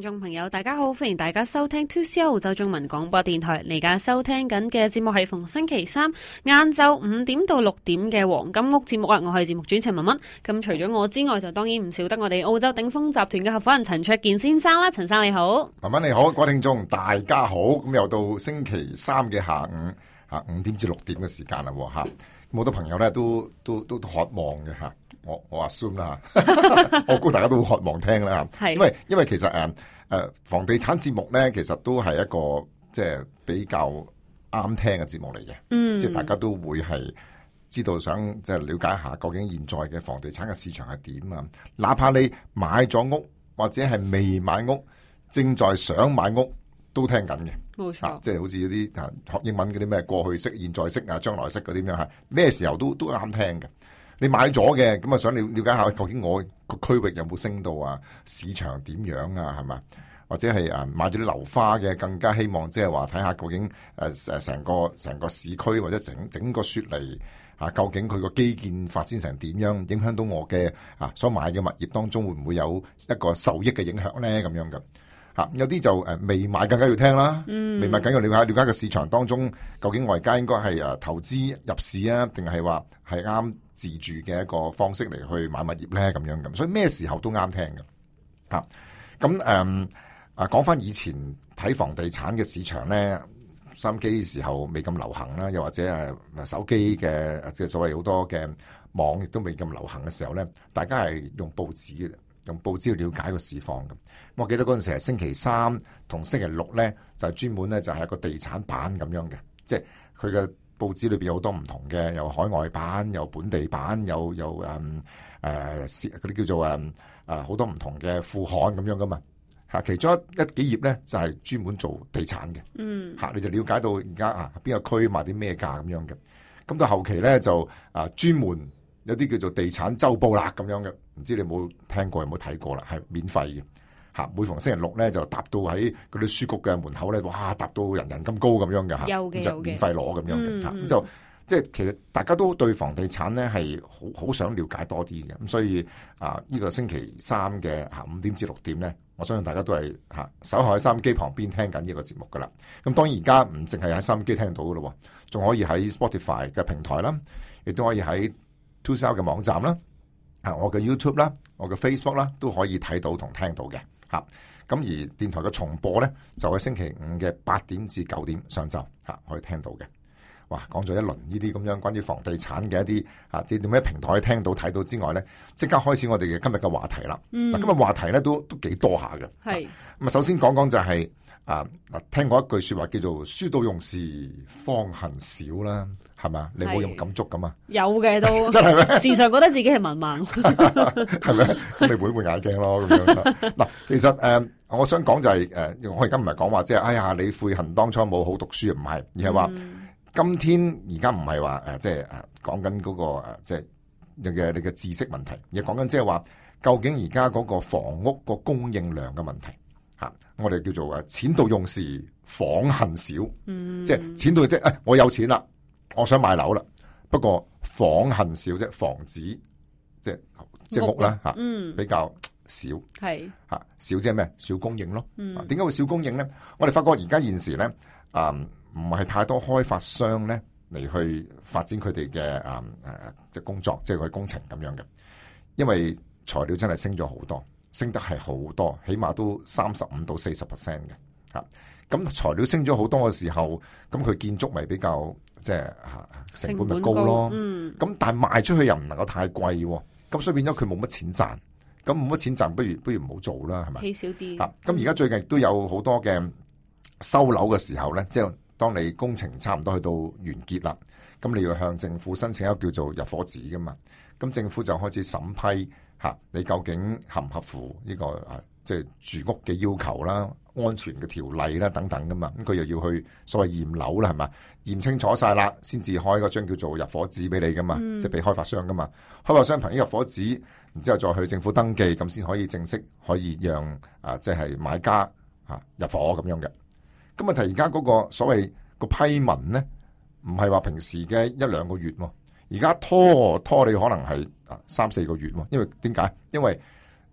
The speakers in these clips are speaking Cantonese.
眾朋友，大家好，歡迎大家收聽 2CR 澳洲中文廣播電台。你而家收聽緊嘅節目係逢星期三晏晝5點到6點嘅黃金屋節目啊！我係節目主持人文文。咁除咗我之外，就當然唔少得我哋澳洲頂峰集團嘅合夥人陳焯楗先生啦。陳生你好， 文文你好，各位聽眾大家好。咁又到星期三嘅下午5點至6點嘅時間啦吓。好多朋友咧都渴望嘅吓。我 assume 啦吓，我估大家都好渴望聽啦吓，因為其實房地產節目咧，其實都係一個即係比較啱聽嘅節目嚟嘅，即係大家都會係知道想即係了解一下究竟現在嘅房地產嘅市場係點啊，哪怕你買咗屋或者係未買屋，正在想買屋都聽緊嘅， 冇錯， 即係好似嗰啲學英文嗰啲咩過去式、現在式啊、將來式嗰啲咁樣吓，咩時候都啱聽嘅。你買咗嘅，咁啊想了解下究竟我個區域有冇升到啊？市場點樣啊？係嘛？或者係買咗啲樓花嘅，更加希望即係話睇下究竟成個市區或者整個雪梨究竟佢個基建發展成點樣，影響到我嘅所買嘅物業當中會唔會有一個受益嘅影響咧？咁樣嘅有啲就未買更加要聽啦，未買更加要了解個市場當中究竟我而家應該係投資入市啊，定係話係啱自住嘅一個方式嚟去買物業咧，咁樣咁，所以咩時候都啱聽嘅。咁講翻以前睇房地產嘅市場咧，收音機時候未咁流行啦，又或者手機嘅即係所謂好多嘅網亦都未咁流行嘅時候咧，大家係用報紙嘅，用報紙去了解個市況嘅。我記得嗰陣時係星期三同星期六咧，就係專門咧就係一個地產版咁樣嘅，即係佢嘅報紙裏邊有好多唔同嘅，有海外版，有本地版，有嗰啲叫做好多唔同嘅副刊咁樣噶嘛吓。其中一幾頁咧就係專門做地產嘅，吓你就了解到而家邊個區賣啲咩價咁樣嘅。咁到後期咧就專門有啲叫做地產週報啦咁樣嘅，唔知你有冇聽過，有冇睇過啦？係免費嘅。每逢星期六咧就搭到喺嗰啲書局嘅門口咧，哇！搭到人咁高咁樣嘅吓，就免費攞咁樣嘅吓，咁就即係其實大家都對房地產咧係好想了解多啲嘅，咁所以呢個星期三嘅5點至6點咧，我相信大家都係守候喺收音機旁邊聽緊呢個節目噶啦。咁當然而家唔淨係喺收音機聽到噶咯，仲可以喺 Spotify 嘅平台啦，亦都可以喺 2CR 嘅網站啦，我嘅 YouTube 啦，我嘅 Facebook 啦，都可以睇到同聽到嘅。咁而電台嘅重播咧，就喺星期五嘅8點至9點上晝可以聽到嘅。哇，講咗一輪呢啲咁樣關於房地產嘅一啲啲點咩平台聽到睇到之外咧，即刻開始我哋嘅今日嘅話題啦。今日話題咧都幾多下嘅。係咁啊，首先講講就係聽過一句說話叫做書到用時方恨少啦，係咪？你冇用感觸咁啊？有嘅都真係咩？時常覺得自己係文盲，係咪？咁你換眼鏡咯咁樣。嗱，其實我想講就係我而家唔係講話即係哎呀你悔恨當初冇好讀書，唔係，而係話今天而家唔係話即係講緊嗰個即係你嘅知識問題，而係講緊即係話究竟而家嗰個房屋個供應量嘅問題。我哋叫做錢到用時方恨少，即係錢到即係我有錢啦，我想買樓啦，不過方恨少啫，房子即係屋啦比較少，係少即係咩？少供應咯。點解會少供應咧？我哋發覺而家現時咧唔係太多開發商咧嚟去發展佢哋嘅工作，即係佢工程咁樣嘅，因為材料真係升咗好多。升得係好多，起碼都35%到40%嘅吓。咁材料升咗好多嘅時候，咁佢建築咪比較即係成本咪高咯。咁但係賣出去又唔能夠太貴，咁所以變咗佢冇乜錢賺。咁冇乜錢賺，不如唔好做啦，係咪？起少啲。咁而家最近亦都有好多嘅收樓嘅時候咧，即係當你工程差唔多去到完結啦，咁你要向政府申請一個叫做入伙紙噶嘛。咁政府就開始審批。你究竟合唔合乎呢個即係住屋嘅要求啦、安全嘅條例啦等等噶嘛？咁佢又要去所謂驗樓啦，係嘛？驗清楚晒啦，先至開嗰張叫做入伙紙俾你噶嘛，即係俾開發商噶嘛。開發商憑呢入伙紙，然之後再去政府登記，咁先可以正式可以讓即係買家入伙咁樣嘅。咁問題而家嗰個所謂個批文咧，唔係話平時嘅1-2個月喎。而家拖你可能係3-4個月喎，因為點解？因為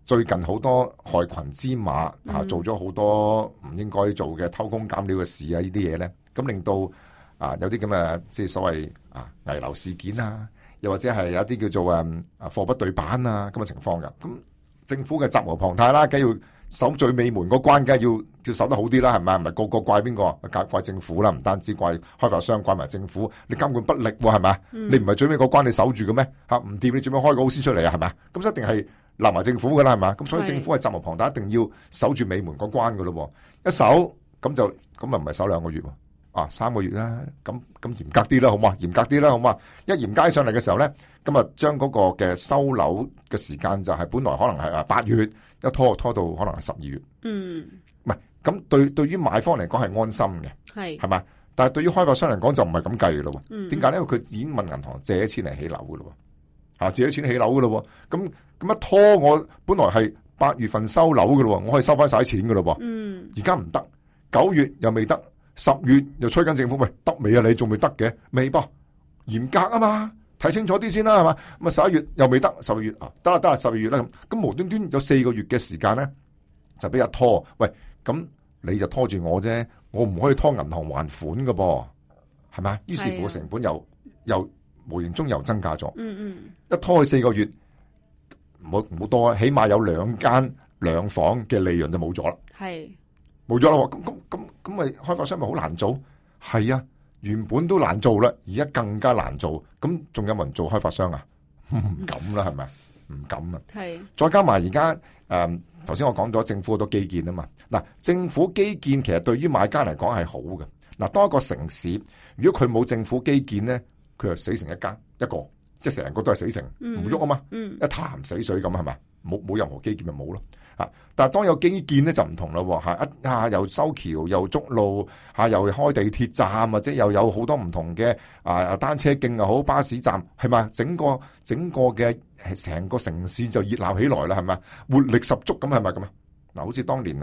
最近好多害群之馬做咗好多唔應該做嘅偷工減料嘅事啊，呢啲嘢咧，咁令到有啲咁嘅即係所謂危樓事件啊，又或者係有一啲叫做貨不對版啊咁嘅情況嘅。咁政府嘅責無旁貸啦，梗係要守最尾門嗰關，梗係要守得好啲啦，係咪？唔係個個怪邊個？怪政府啦，唔單止怪開發商，怪埋政府，你監管不力喎，係咪？你唔係最尾嗰關你守住嘅咩？唔掂你做咩開個好先出嚟啊？係咪？咁一定係立埋政府噶啦，係嘛？咁所以政府係責無旁貸，一定要守住尾門嗰關噶咯。一守咁唔係守2個月喎，3個月啦。咁嚴格啲啦，好嘛？嚴格啲啦，好嘛？一嚴格上嚟嘅時候咧，咁啊將嗰個嘅收樓嘅時間就係本來可能係8月，一拖到可能係12月。唔係咁對於買方嚟講係安心嘅，係嘛？但係對於開發商嚟講就唔係咁計嘅咯。點解咧？因為佢已經問銀行借錢嚟起樓嘅咯。借咗錢起樓噶咯，咁一拖我本來係8月份收樓噶咯，我可以收翻晒啲錢噶咯。而家唔得，9月又未得，10月又催緊政府，喂，得未啊？你仲未得嘅？未噃，嚴格啊嘛，睇清楚啲先啦，係嘛？咁啊11月又未得，12月得啦12月啦咁無端端有4個月嘅時間咧，就俾人拖。喂，咁你就拖住我啫，我唔可以拖銀行還款噶噃，係咪？於是乎成本又無形中又增加咗，一拖去4個月，唔好多啊，起碼有2間2房嘅利潤就冇咗啦，冇咗啦，咁咪開發商咪好難做？係啊，原本都難做啦，而家更加難做，咁仲有冇人做開發商啊？唔敢啦，係咪？唔敢啊！再加埋而家頭先我講咗政府好多基建啊嘛，嗱，政府基建其實對於買家嚟講係好嘅，嗱，當一個城市如果佢冇政府基建咧，佢就死成一個，即係成個都係死城，唔喐啊嘛，一潭死水咁係咪？冇任何基建咪冇咯，但係當有基建咧就唔同啦，又修橋又築路，又開地鐵站，或者又有好多唔同嘅單車徑又好，巴士站係咪？整個嘅成個城市就熱鬧起來啦，係咪？活力十足咁係咪咁啊？嗱，好似當年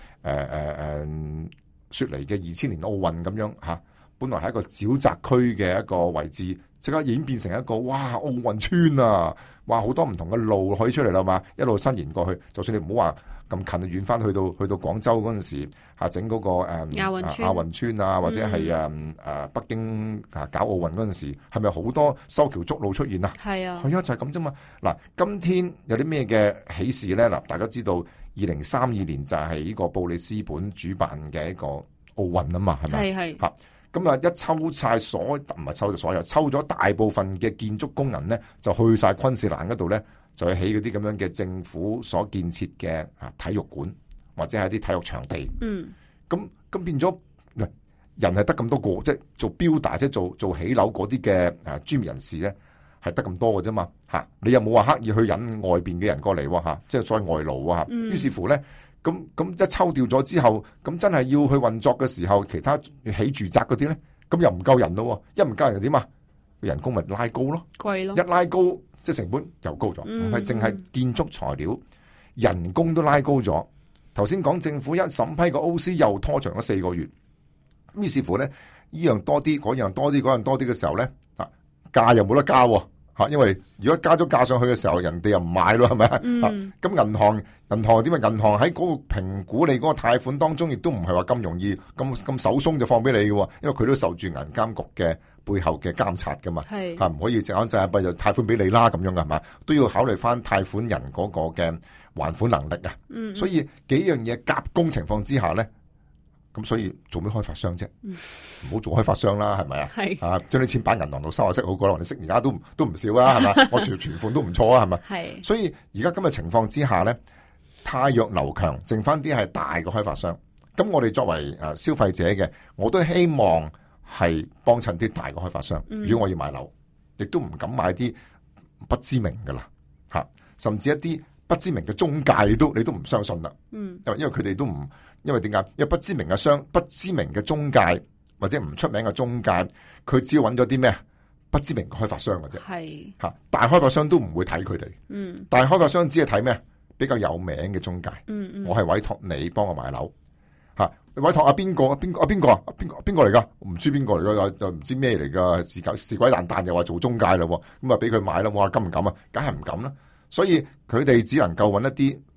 雪梨嘅2000年奧運咁樣嚇。本來係一個沼澤區嘅一個位置，即刻演變成一個哇奧運村啊！哇好多唔同嘅路可以出嚟啦嘛，一路伸延過去。就算你唔好話咁近，遠翻去到廣州嗰陣時整嗰個亞運村啊，或者係北京搞奧運嗰陣時，係咪好多修橋築路出現啊？係啊，就係咁啫嘛。嗱，今天有啲咩嘅喜事咧？嗱，大家知道2032年就係呢個布里斯本主辦嘅一個奧運啊嘛，係咪？係。咁啊！一抽晒唔係抽就所有，抽咗大部分嘅建築工人咧，就去晒昆士蘭嗰度咧，就去起嗰啲咁樣嘅政府所建設嘅體育館或者係啲體育場地。咁變咗，人係得咁多個，即係做builder，即係做起樓嗰啲嘅專業人士咧，係得咁多嘅啫嘛。你又冇話刻意去引外邊嘅人過嚟喎，即係再外勞啊。於是乎咧。咁一抽掉咗之後，咁真係要去運作嘅時候，其他起住宅嗰啲咧，咁又唔夠人咯，一唔夠人又點啊？人工咪拉高咯，貴咯，一拉高即係成本又高咗，唔係淨係建築材料，人工都拉高咗。頭先講政府一審批個 OC 又拖長咗4個月，於是乎咧，呢樣多啲，嗰樣多啲，嗰樣多啲嘅時候咧，價又冇得加。因為如果加咗價上去嘅時候，人哋又唔買咯，係咪？咁銀行點啊？銀行喺嗰個評估你嗰個貸款當中，亦都唔係話咁容易咁手鬆就放俾你嘅，因為佢都受住銀監局嘅背後嘅監察噶嘛，唔可以隻眼隻閉就貸款俾你啦咁樣噶係嘛？都要考慮翻貸款人嗰個嘅還款能力啊。所以幾樣嘢夾攻情況之下咧。咁所以做咩開發商啫？唔好做開發商啦，係咪啊？將啲錢擺銀行度收下息好過啦，你息而家都唔少啦，係咪？我存款都唔錯啊，係咪？所以而家今日情況之下咧，汰弱留強，剩翻啲係大嘅開發商。咁我哋作為消費者嘅，我都希望係幫襯啲大嘅開發商。如果我要買樓，亦都唔敢買啲不知名噶啦，甚至一啲不知名嘅中介，你都唔相信啦。因為佢哋都唔。因為點解？因為不知名嘅中介或者唔出名嘅中介，佢只要揾咗啲咩不知名嘅開發商嘅啫。大開發商都唔會睇佢哋。大開發商只係睇咩比較有名嘅中介。我係委託你幫我買樓。委託邊個嚟噶？唔知邊個嚟噶，又唔知咩嚟噶，是鬼蛋蛋又話做中介啦。咁啊俾佢買啦，我話敢唔敢啊？梗係唔敢啦。所以佢哋只能夠揾一啲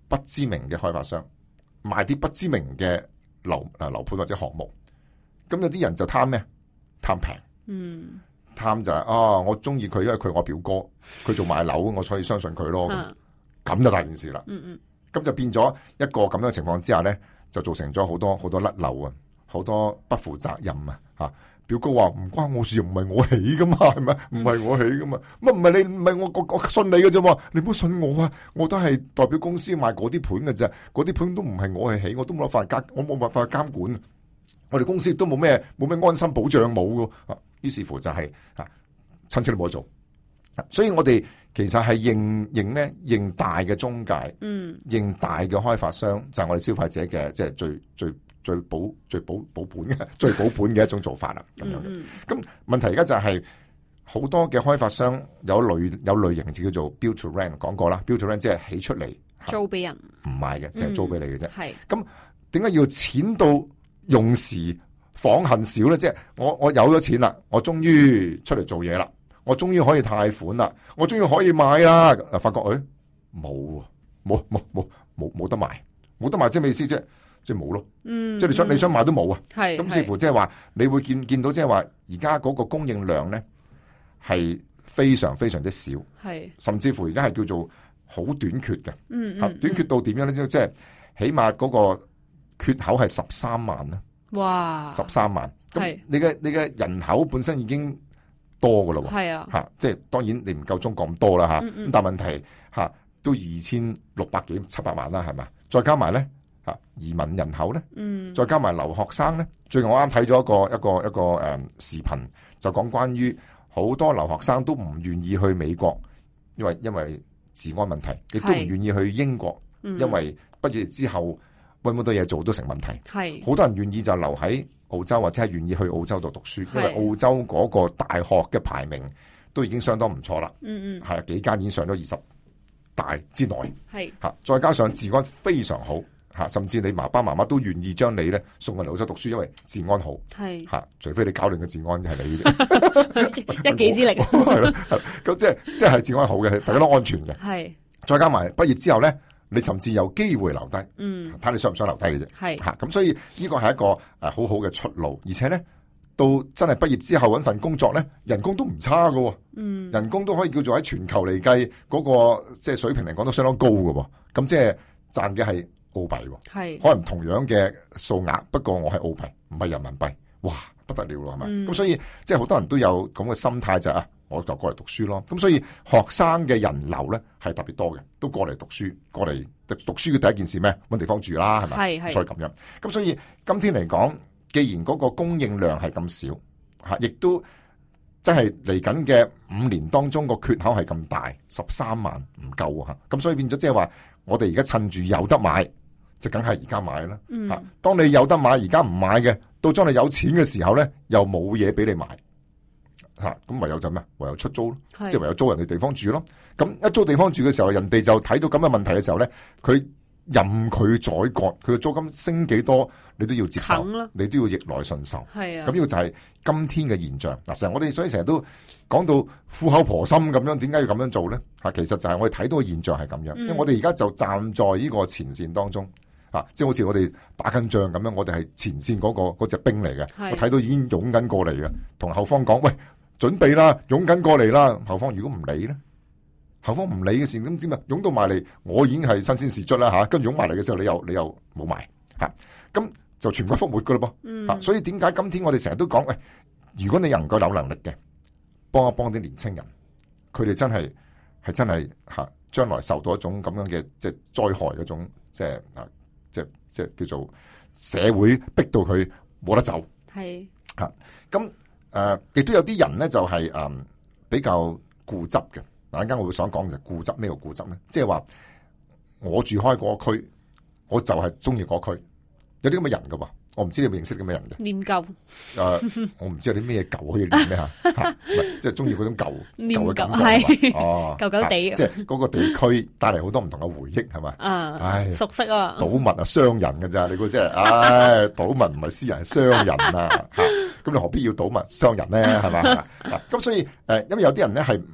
不知名嘅開發商賣啲不知名嘅樓盤或者項目，咁有啲人就貪咩？貪平，貪就係我中意佢，因為佢我表哥，佢做賣樓，我所以相信佢咯。咁就大件事啦。咁就變咗一個咁樣嘅情況之下咧，就造成咗好多甩漏啊，好多不負責任啊。吓，表哥話唔關我事，唔係我起噶嘛，係咪？唔係我起噶嘛，乜唔係你唔係我信你嘅啫？你唔好信我啊！我都係代表公司賣嗰啲盤嘅啫，嗰啲盤都唔係我去起，我都冇辦法我冇辦法監管。我哋公司都冇咩安心保障冇噶。於是乎就係親戚都冇得做。所以我哋其實係認大嘅中介，認大嘅開發商，就係我哋消費者嘅即係最保本嘅一種做法啦。咁樣嘅。咁問題而家就係好多嘅開發商有類型就叫做 build to rent， 講過啦 ，build to rent 即係起出嚟租俾人， 唔賣嘅，淨係租俾你嘅啫。 係咁點解要錢到用時訪恨少咧？即係我有咗錢啦，我終於出嚟做嘢啦。我終於可以貸款啦，我終於可以買啦。發覺冇得賣，冇得賣即係咩意思啫？即係冇咯。即係你想買都冇啊。咁似乎即係話你會見到即係話而家嗰個供應量咧係非常非常之少，甚至乎而家係叫做好短缺嘅。短缺到點樣咧？即係起碼嗰個缺口係13萬啦。哇！13萬。咁你嘅人口本身已經多噶咯，即係當然你唔夠中國咁多啦，咁但係問題都2600幾700萬啦，係咪？再加埋咧移民人口咧，再加埋留學生咧。最近我啱睇咗一個視頻，就講關於好多留學生都唔願意去美國，因為治安問題，亦都唔願意去英國，因為畢業之後搵好多嘢做都成問題。好多人願意就留喺澳洲，或者係願意去澳洲度讀書，因為澳洲嗰個大學嘅排名都已經相當唔錯啦。係幾間已經上咗20大之內。再加上治安非常好，甚至你爸爸媽媽都願意將你咧送去澳洲讀書，因為治安好。除非你搞亂嘅治安係你嘅一己之力。 係咯，咁即係治安好嘅，大家都安全嘅。再加埋畢業之後咧，你甚至有機會留低，睇你想唔想留低嘅啫。咁所以呢個係一個好好嘅出路，而且咧到真係畢業之後搵份工作咧，人工都唔差㗎。人工都可以叫做喺全球嚟計嗰個即係水平嚟講都相當高㗎。咁即係賺嘅係澳幣，可能同樣嘅數額，不過我係澳幣，唔係人民幣，哇，不得了咯，係咪？咁所以即係好多人都有咁嘅心態就係我就過嚟讀書咯。咁所以學生嘅人流咧係特別多嘅，都過嚟讀書，過嚟讀書嘅第一件事咩？揾地方住啦，係咪？所以咁樣。咁所以今天嚟講，既然嗰個供應量係咁少，亦都即係嚟緊嘅5年當中個缺口係咁大，13萬唔夠啊！咁所以變咗即係話，我哋而家趁住有得買，就梗係而家買啦。當你有得買，而家唔買嘅，到將你有錢嘅時候咧，又冇嘢俾你買。咁唯有就咩？唯有出租咯，即係唯有租人哋地方住咯。咁一租地方住嘅時候，人哋就睇到咁嘅問題嘅時候咧，佢任佢宰割，佢嘅租金升幾多，你都要接受，你都要逆來順受。咁呢個就係今天嘅現象。嗱，我哋所以成日都講到苦口婆心咁樣，點解要咁樣做咧？其實就係我哋睇到嘅現象係咁樣，因為我哋而家就站在呢個前線當中。即係好似我哋打緊仗咁樣，我哋係前線嗰隻兵嚟嘅。我睇到已經湧緊過嚟嘅，同後方講：喂，準備啦，湧緊過嚟啦！後方如果唔理咧，後方唔理嘅時，咁點啊？湧到埋嚟，我已經係新鮮事出啦，跟住湧埋嚟嘅時候，你又冇埋，咁就全軍覆沒噶啦噃。所以點解今天我哋成日都講：喂，如果你能夠有能力嘅，幫一幫啲年青人，佢哋真係將來受到一種咁樣嘅即係災害嗰種即係叫做社會逼到佢冇得走。咁亦都有啲人咧就係比較固執嘅。嗱，陣間我會想講就係固執。咩叫固執咧？即係話我住開嗰個區，我就係中意嗰區。有啲咁嘅人噶喎，我唔知你有冇認識啲咩人嘅？念舊。我唔知有啲咩舊可以念咩嚇？即係中意嗰種舊嘅感覺係嘛？舊舊地。即係嗰個地區帶嚟好多唔同嘅回憶係嘛？唉，熟悉啊！賭物啊，商人㗎咋？你估即係唉，賭物唔係私人，係商人啊！咁你何必要賭物商人咧？係嘛？咁所以因為有啲人咧係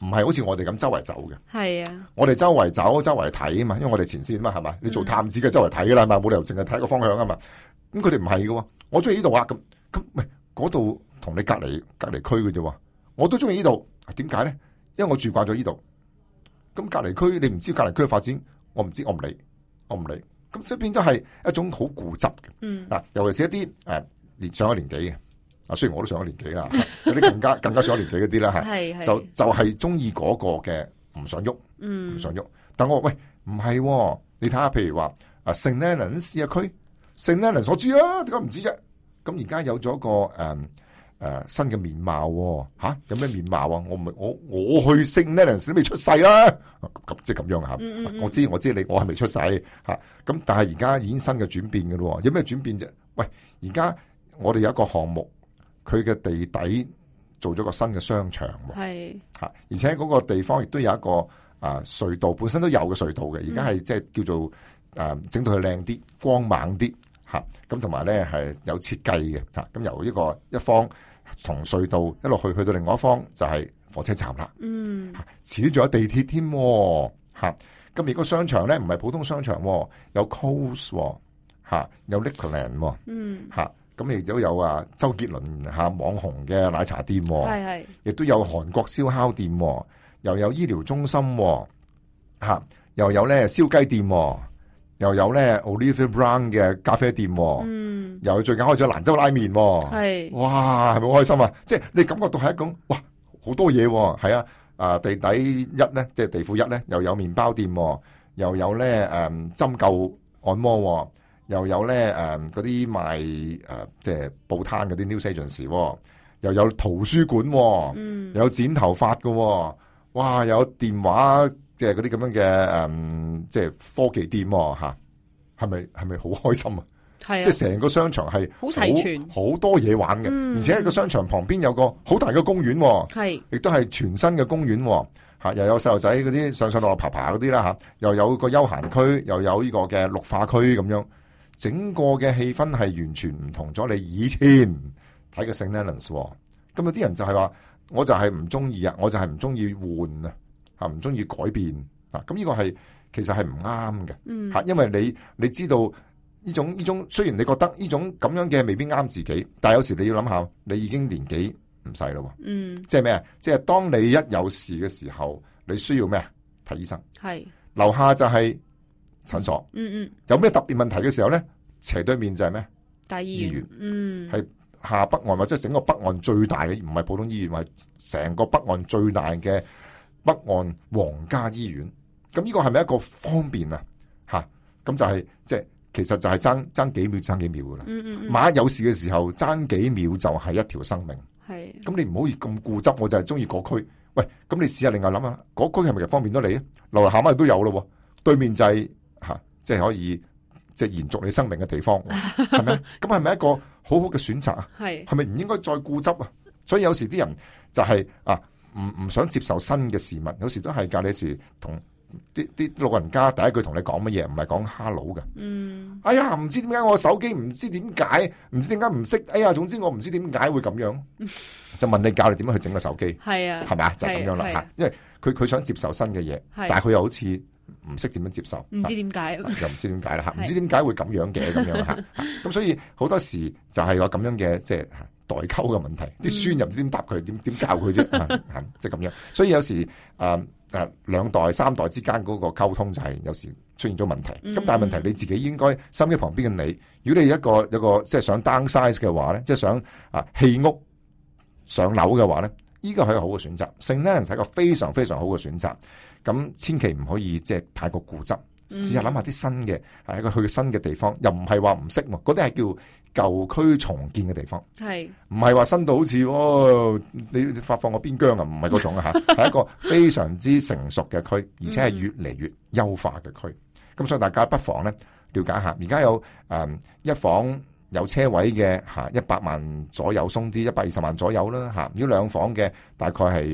唔係好似我哋咁周圍走嘅。 係啊， 我哋周圍走，周圍睇啊嘛，因為我哋前線啊嘛，係嘛？你做探子嘅周圍睇噶啦，係嘛？冇理由淨係睇一個方向啊嘛。咁佢哋唔係嘅，我中意呢度啊，咁喂，嗰度同你隔離區嘅啫，我都中意呢度。點解咧？因為我住慣咗呢度。咁隔離區你唔知隔離區嘅發展，我唔知，我唔理。咁即係變咗係一種好固執嘅。嗱，尤其是一啲上咗年紀嘅。雖然我都上咗年紀啦，有啲更加上咗年紀嗰啲啦，係就係中意嗰個嘅唔想喐，唔想喐。但我話喂，唔係，你睇下，譬如話St Leonards 區，St Leonards我知啊，點解唔知啫？咁而家有咗個新嘅面貌，吓有咩面貌啊？我去 St Leonards 都未出世啦，咁即係咁樣吓。我知我係未出世吓，咁但係而家已經新嘅轉變嘅咯，有咩轉變啫？喂，而家我哋有一個項目。佢嘅地底做咗個新嘅商場，係吓，而且嗰個地方亦都有一個隧道，本身都有嘅隧道嘅，而家係即係叫做整到佢靚啲、光猛啲吓，咁同埋咧係有設計嘅吓，咁由一方從隧道一路去到另外一方就係火車站啦，遲啲仲有地鐵添吓，咁而個商場咧唔係普通商場，有 Coles 吓，有 Liquorland 吓。咁亦都有周杰倫網紅嘅奶茶店，係亦都有韓國燒烤店，又有醫療中心，又有咧燒雞店，又有咧 Oliver Brown 嘅咖啡店，又最近開咗蘭州拉麵，係哇，係咪好開心啊？即係你感覺到係一種哇，好多嘢，係地底一咧，即係地庫一咧，又有麵包店，又有咧針灸按摩。又有咧嗰啲賣即係報攤嗰啲 news agency，又有圖書館，又有剪頭髮嘅，哇！又有電話即係嗰啲咁樣嘅即係科技店吓，係咪好開心啊？係啊！即係成個商場係好齊全，好多嘢玩嘅，而且喺個商場旁邊有個好大嘅公園，係亦都係全新嘅公園吓，又有細路仔嗰啲上落爬嗰啲啦吓，又有個休閒區，又有呢個嘅綠化區咁樣。整個嘅氣氛係完全唔同咗你以前睇嘅 St Leonards，咁有啲人就係話，我就係唔中意啊，我就係唔中意換啊，吓唔中意改變啊，咁呢個係其實係唔啱嘅，吓，因為你知道呢種雖然你覺得呢種咁樣嘅未必啱自己，但係有時你要諗下，你已經年紀唔細咯，即係咩啊？即係當你一有事嘅時候，你需要咩啊？睇醫生，係樓下就係診所，有咩特別問題嘅時候咧，斜對面就係咩？大醫院，係下北岸或者整個北岸最大嘅，唔係普通醫院，係成個北岸最大嘅北岸皇家醫院。咁呢個係咪一個方便啊？吓，咁就係即係其實就係爭幾秒噶啦。萬一有事嘅時候，爭幾秒就係一條生命。係，咁你唔好咁固執，我就係中意嗰區。喂，咁你試下另外諗下，嗰區係咪就方便到你啊？樓下乜都有咯，對面就係。即係可以，即係延續你生命嘅地方，係咪？咁係咪一個好好嘅選擇啊？係咪唔應該再固執啊？所以有時啲人就係唔想接受新嘅事物，有時都係教你時同啲老人家第一句同你講乜嘢，唔係講 hello 嘅。哎呀，唔知點解我手機唔知點解唔識？哎呀，總之我唔知點解會咁樣，就問你教你點樣去整個手機。係啊，係咪啊？就係咁樣啦吓，因為佢想接受新嘅嘢，但係佢又好似唔識點樣接受，唔知點解，又唔知點解啦吓，唔知點解會咁樣嘅咁樣吓，咁所以好多時就係有咁樣嘅即係代溝嘅問題，啲孫又唔知點答佢，點教佢啫，即係咁樣。所以有時兩代三代之間嗰個溝通就係有時出現咗問題。咁但係問題你自己應該心機旁邊嘅你，如果你有一個即係想 downsize 嘅話咧，即係想棄屋上樓嘅話咧，呢個係一個好嘅選擇。St Leonards係一個非常非常好嘅選擇。咁千祈唔可以即係太過固執，試下諗下啲新嘅，係一個去新嘅地方，又唔係話唔識喎，嗰啲係叫舊區重建嘅地方，係唔係話新到好似你發放個邊疆啊？唔係嗰種啊嚇，係一個非常之成熟嘅區，而且係越嚟越優化嘅區。咁所以大家不妨咧了解下，而家有一房有車位嘅嚇100萬左右，鬆啲120萬左右啦嚇。如果兩房嘅大概係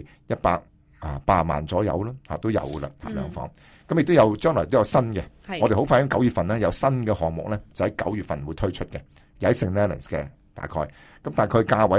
80萬左右啦，都有噶啦，兩房。咁亦都有將來都有新嘅，我哋好快喺9月份咧有新嘅項目咧，就喺9月份會推出嘅，又喺 St Leonards 嘅大概。咁大概價位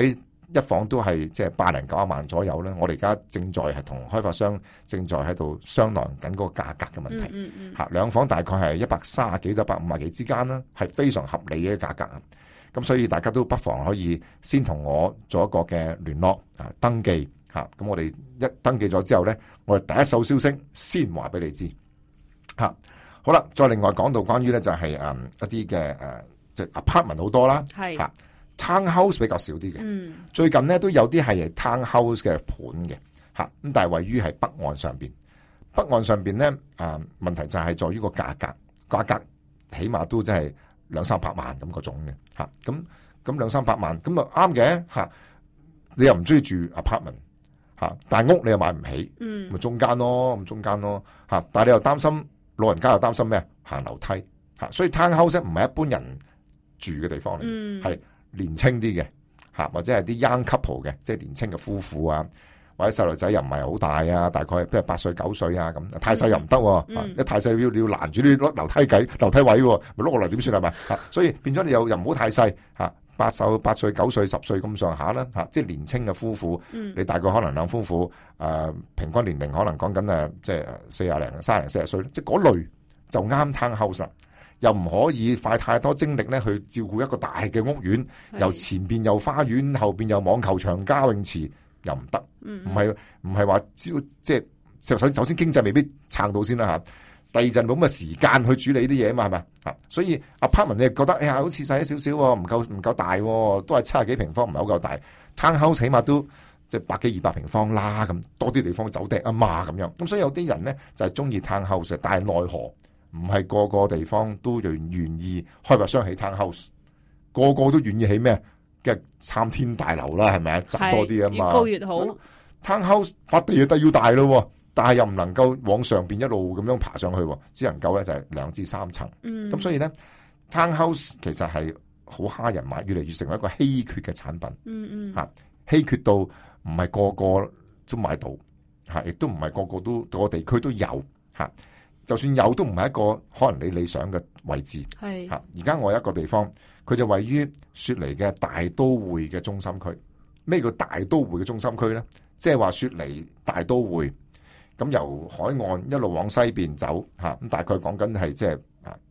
一房都係即係80、90萬左右咧。我哋而家正在係同開發商正在喺度商量緊嗰個價格嘅問題。兩房大概係130幾到150幾之間啦，係非常合理嘅價格。咁所以大家都不妨可以先同我做一個嘅聯絡登記嚇。咁我哋一登記咗之後咧，我哋第一手消息先話俾你知嚇。好啦，再另外講到關於咧就係一啲嘅即係 apartment 好多啦，係嚇 townhouse 比較少啲嘅。最近咧都有啲係 townhouse 嘅盤嘅嚇，咁但係位於係北岸上邊。北岸上邊咧問題就係在於個價格起碼都真係200-300萬咁嗰種嘅嚇。咁200-300萬咁啊啱嘅嚇。你又唔中意住 apartment 嚇，但係屋你又買唔起，咪中間咯嚇。但係你又擔心老人家又擔心咩？行樓梯嚇，所以 townhouse 唔係一般人住嘅地方嚟，係年輕啲嘅嚇，或者係啲 young couple 嘅，即係年輕嘅夫婦啊，或者細路仔又唔係好大啊，大概即係8歲9歲啊咁，太細又唔得，一太細你要攔住啲樓梯位，咪碌落嚟點算係咪嚇？所以變咗你又唔好太細嚇。8歲9歲10歲咁上下啦嚇，即係年青嘅夫婦，你大概可能兩夫婦平均年齡可能講緊即係30-40歲，即係嗰類就啱 townhouse 啦。又唔可以花太多精力咧去照顧一個大嘅屋苑，由前邊有花園，後邊有網球場、加泳池，又唔得。唔係話即係首先經濟未必撐到先啦嚇。第二陣冇咁嘅時間去處理呢啲嘢嘛，係咪啊？所以 apartment 你覺得哎呀好似細咗少少，唔夠大，都係70幾平方，唔係好夠大。townhouse 起碼都即係100幾200平方啦，咁多啲地方走趯啊嘛咁樣。咁所以有啲人咧就係中意 townhouse， 但係奈何唔係個個地方都願意開發商起 townhouse， 個個都願意起咩嘅參天大樓啦，係咪啊？賺多啲啊嘛， 越高越好。 townhouse 發地要大咯。但係又唔能夠往上邊一路咁樣爬上去，只能夠咧就係2至3層。咁所以咧 townhouse 其實係好蝦人買，越嚟越成為一個稀缺嘅產品。稀缺到唔係個個都買到，亦都唔係個個都個地區都有。就算有都唔係一個可能你理想嘅位置。而家我有一個地方，佢就位於雪梨嘅大都會嘅中心區。咩叫大都會嘅中心區咧？即係話雪梨大都會。咁由海岸一路往西邊走嚇，咁大概講緊係即係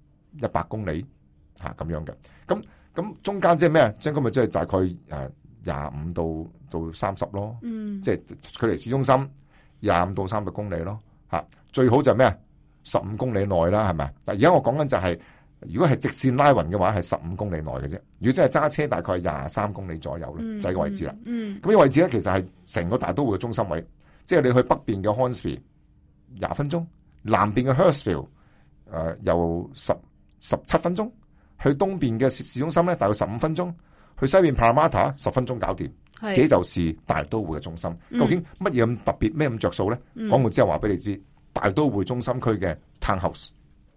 100公里嚇咁樣嘅。咁中間即係咩？即係咁咪即係大概25到30咯。即係距離市中心25到30公里咯嚇。最好就係咩？15公里內啦，係咪？但而家我講緊就係，如果係直線拉勻嘅話，係15公里內嘅啫。如果真係揸車，大概23公里左右啦，就係個位置啦。咁呢個位置咧，其實係成個大都會嘅中心位。即係你去北邊嘅 Hornsby 20分鐘，南邊嘅 Hurstville 又17分鐘，去東邊嘅市中心咧大概15分鐘，去西邊 Parramatta 10分鐘搞掂，這就是大都會嘅中心。究竟乜嘢咁特別，咩咁着數咧？講完之後話俾你知，大都會中心區嘅 townhouse。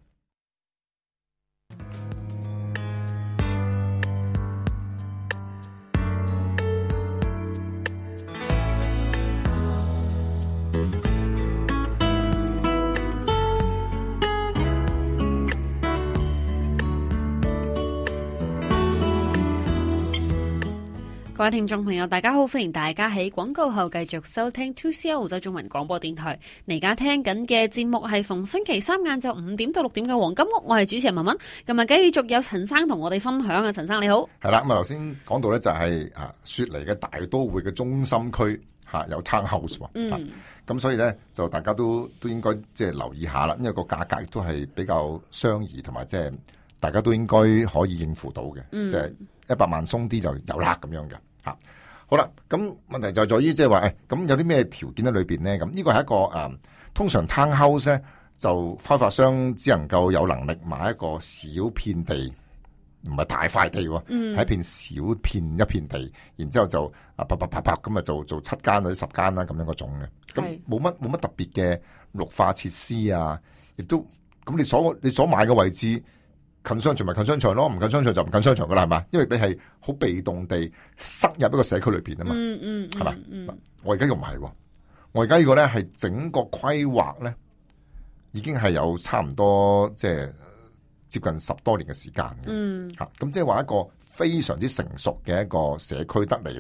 各位聽眾朋友，大家好，歡迎大家喺廣告後繼續收聽 2CR 澳洲中文廣播電台。你而家聽緊嘅節目係逢星期三晏晝5點到6點嘅黃金屋，我係主持人文文。今日繼續有陳生同我哋分享啊，陳生你好。 係啦，咁啊頭先講到咧就係雪梨嘅大都會嘅中心區有 townhouse 喎。咁所以咧就大家都應該即係留意下啦，因為個價格亦都係比較相宜，同埋即係大家都應該可以應付到嘅，即係100萬鬆啲就有啦咁樣嘅。好啦，咁問題就在於即係話，咁有啲咩條件喺裏邊咧？咁呢個係一個通常 townhouse 咧，就開發商只能夠有能力買一個小片地，唔係大塊地喎，係一片小一片地，然之後就啪咁啊做7間或者10間啦咁樣嗰種嘅，咁冇乜特別嘅綠化設施啊，亦都咁你所買嘅位置。近商場咪近商場咯，唔近商場就唔近商場噶啦，係嘛？因為你係好被動地塞入一個社區裏邊啊嘛，係嘛？我而家又唔係喎，我而家呢個咧係整個規劃咧，已經係有差唔多即係接近10多年嘅時間嘅，咁即係話一個非常之成熟嘅一個社區得嚟咧，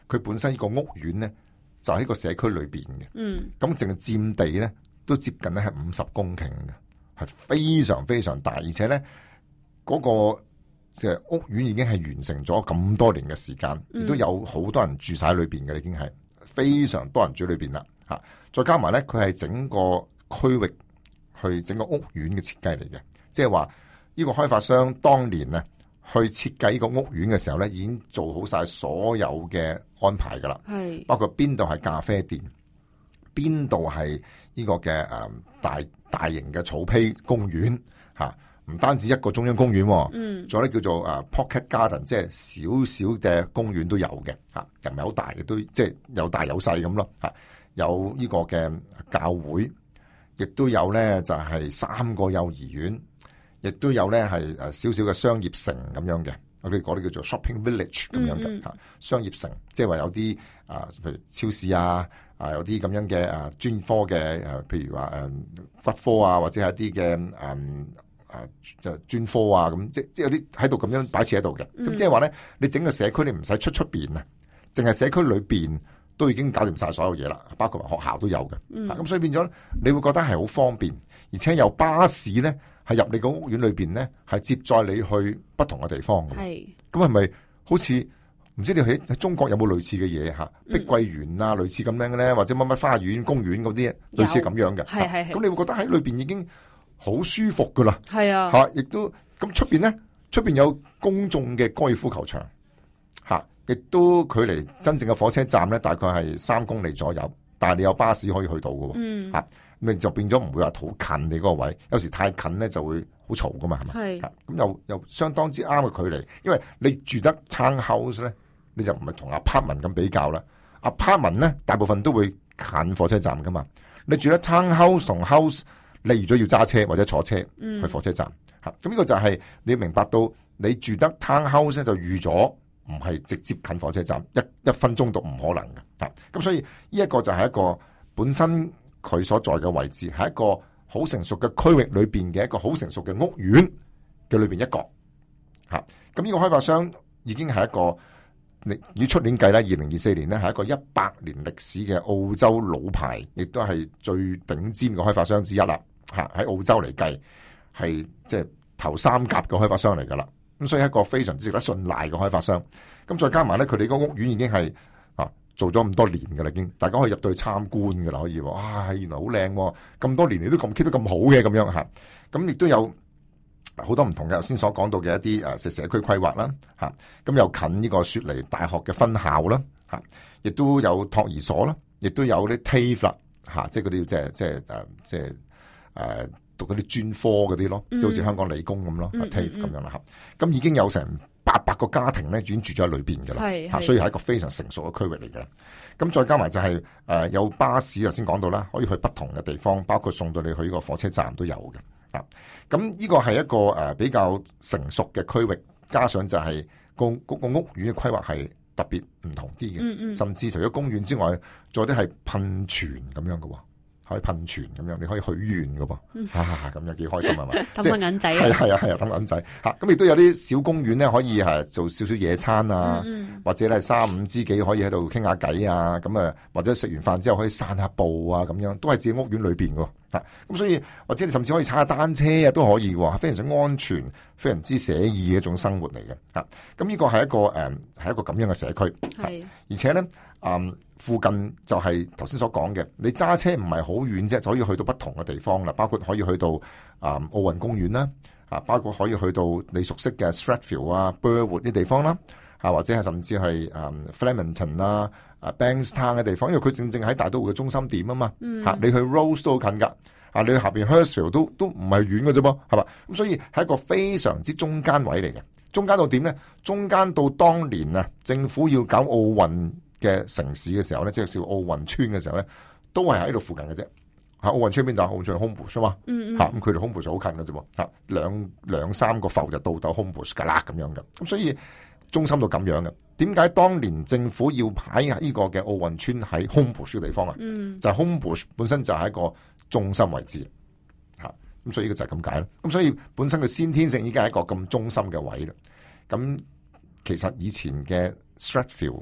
佢本身呢個屋苑咧就喺個社區裏邊嘅，咁淨係佔地咧都接近咧係50公頃嘅，係非常非常大，而且咧嗰個即係屋苑已經係完成咗咁多年嘅時間，亦都有好多人住晒喺裏邊嘅，已經係非常多人住喺裏邊啦吓。再加埋咧，佢係整個區域去整個屋苑嘅設計嚟嘅，即係話呢個開發商當年啊去設計呢個屋苑嘅時候咧，已經做好晒所有嘅安排噶啦，係包括邊度係咖啡店，邊度係呢個嘅大型嘅草皮公園吓。唔單止一個中央公園，仲有咧叫做Pocket Garden，即係少少嘅公園都有嘅嚇，又唔係好大嘅，都即係有大有細咁咯嚇。有呢個嘅教會，亦都有咧就係3個幼兒園，亦都有咧係少少嘅商業城咁樣嘅，我哋嗰啲叫做 shopping village 咁樣嘅嚇。商業城即係話有啲譬如超市啊，有啲咁樣嘅專科嘅譬如話骨科啊，或者係一啲嘅就專科啊，咁即係有啲喺度咁樣擺設喺度嘅，咁即係話咧，你整個社區你唔使出邊啊，淨係社區裏邊都已經搞掂晒所有嘢啦，包括埋學校都有嘅，咁所以變咗你會覺得係好方便，而且有巴士咧係入你個屋苑裏邊咧係接載你去不同嘅地方嘅，咁係咪好似唔知你喺中國有冇類似嘅嘢吓？碧桂園啊，類似咁樣嘅咧，或者乜乜花園公園嗰啲類似咁樣嘅，咁你會覺得喺裏邊已經好舒服噶啦，係啊，吓亦都咁出邊咧，出邊有公眾嘅高爾夫球場，吓亦都距離真正嘅火車站咧，大概係3公里左右，但係你有巴士可以去到嘅，吓咁就變咗唔會話好近你嗰個位，有時太近咧就會好嘈噶嘛，係嘛，咁又相當之啱嘅距離，因為你住得 townhouse 咧，你就唔係同 apartment 咁比較啦 ，apartment 咧大部分都會近火車站噶嘛，你住得 townhouse 同 house。你預咗要揸車或者坐車去火車站，咁呢個就係你要明白到你住得 townhouse 就預咗唔係直接近火車站，一分鐘都唔可能嘅，咁所以呢一個就係一個本身佢所在嘅位置係一個好成熟嘅區域裏邊嘅一個好成熟嘅屋苑嘅裏邊一角，咁呢個開發商已經係一個以出年計咧，2024年咧係一個100年歷史嘅澳洲老牌，亦都係最頂尖嘅開發商之一啦。喺澳洲嚟計，係即係頭3甲嘅開發商嚟噶啦。咁所以係一個非常值得信賴嘅開發商。咁再加埋咧，佢哋個屋苑已經係做咗咁多年噶啦，已經大家可以入到去參觀噶啦，可以哇，原來好靚，咁多年你都咁 keep 得咁好嘅咁樣吓。咁亦都有好多唔同嘅，頭先所講到嘅一啲社區規劃啦，咁又近呢個雪梨大學嘅分校啦，亦都有托兒所啦，亦都有啲 TAFE 啦，即係嗰啲即係讀嗰啲專科嗰啲咯，即係好似香港理工咁咯，TAFE 咁樣啦，咁已經有成800個家庭咧，已經住咗喺裏邊噶啦，所以係一個非常成熟嘅區域嚟嘅。咁再加埋就係有巴士，頭先講到啦，可以去不同嘅地方，包括送到你去呢個火車站都有嘅。咁呢個係一個比較成熟嘅區域，加上就係個屋苑嘅規劃係特別唔同啲嘅，甚至除咗公園之外，仲有啲係噴泉咁樣嘅喎。可以噴泉咁樣，你可以許願嘅噃，咁樣幾開心係嘛？ 抌個銀仔， 係啊，抌銀仔嚇。咁亦都有啲小公園咧，可以係做少少野餐啊，或者咧3、5知己可以喺度傾下偈啊，咁啊，或者食完飯之後可以散下步啊，咁樣都係自己屋苑裏邊嘅嚇。咁所以或者你甚至可以踩下單車啊，都可以喎，非常之安全、非常之寫意嘅一種生活嚟嘅嚇。咁呢個係一個係一個咁樣嘅社區，而且咧。附近就係頭先所講嘅，你揸車唔係好遠啫，就可以去到不同嘅地方啦。包括可以去到奧運公園啦，包括可以去到你熟悉嘅 Strathfield 啊、Burwood 啲地方啦，或者係甚至係Flemington 啦、Bankstown 嘅地方，因為佢正正喺大都會嘅中心點啊嘛。你去 Rose 都好近噶，你去下邊 Hurstville 都唔係遠嘅啫噃，係嘛？咁所以係一個非常之中間位嚟嘅。中間到點咧？中間到當年啊，政府要搞奧運嘅城市嘅時候咧，即係叫奧運村嘅時候咧，都係喺度附近嘅啫。奧運村邊度？奧運村 Homebush 啊嘛，咁佢哋 Homebush 好近嘅啫喎，兩三個埠就到 Homebush 噶啦咁樣嘅。咁所以中心到咁樣嘅。點解當年政府要擺呢個嘅奧運村喺 Homebush 嘅地方啊？就係 Homebush 本身就係一個中心位置，咁所以呢個就係咁解啦。咁所以本身嘅先天性已經係一個咁中心嘅位啦。咁其實以前嘅 Strathfield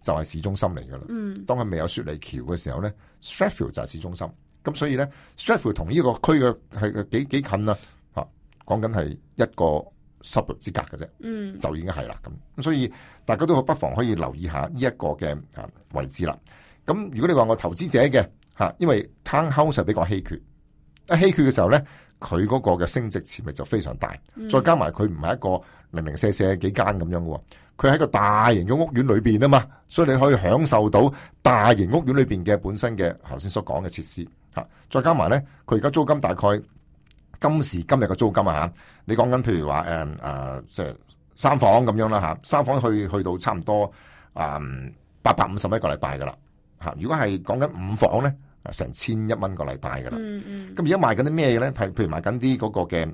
就係市中心嚟噶啦。當佢未有雪梨橋嘅時候咧 Strathfield 就係市中心。咁所以咧 Strathfield 同呢個區嘅係幾近啊，講緊係一個 suburb 之隔嘅啫，就已經係啦。咁所以大家都不妨可以留意下呢一個嘅位置啦。咁如果你話我投資者嘅因為 townhouse 係比較稀缺，一稀缺嘅時候咧，佢嗰個嘅升值潛力就非常大。再加埋佢唔係一個零零舍舍幾間咁樣嘅，佢喺個大型嘅屋苑裏邊啊嘛，所以你可以享受到大型屋苑裏邊嘅本身嘅頭先所講嘅設施。再加埋咧，佢而家租金大概今時今日嘅租金啊，你講緊譬如話即係3房咁樣啦3房去到差唔多850蚊一個禮拜噶啦如果係講緊5房咧，成1100蚊個禮拜噶啦。咁而家賣緊啲咩咧？譬如賣緊啲嗰個嘅